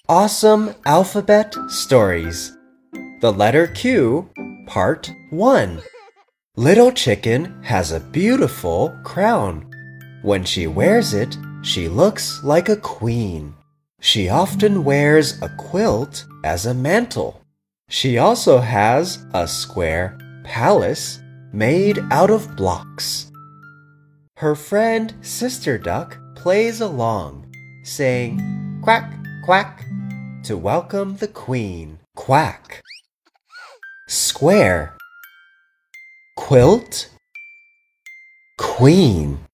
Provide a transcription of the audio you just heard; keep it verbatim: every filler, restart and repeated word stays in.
Awesome Alphabet Stories. The letter Q, Part one. Little Chicken has a beautiful crown. When she wears it, she looks like a queen. She often wears a quilt as a mantle. She also has a square palace made out of blocks. Her friend Sister Duck plays along, saying quack, quack, to welcome the queen. Quack. Square. Quilt. Queen.